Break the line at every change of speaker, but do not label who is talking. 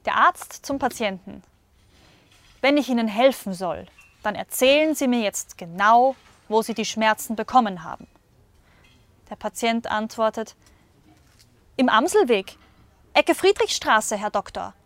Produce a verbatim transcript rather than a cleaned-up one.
Der Arzt zum Patienten: Wenn ich Ihnen helfen soll, dann erzählen Sie mir jetzt genau, wo Sie die Schmerzen bekommen haben. Der Patient antwortet: Im Amselweg, Ecke Friedrichstraße, Herr Doktor.